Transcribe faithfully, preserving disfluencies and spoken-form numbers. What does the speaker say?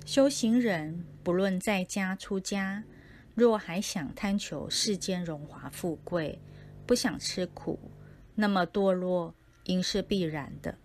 修行人不论在家出家，若还想贪求世间荣华富贵，不想吃苦，那么堕落应是必然的。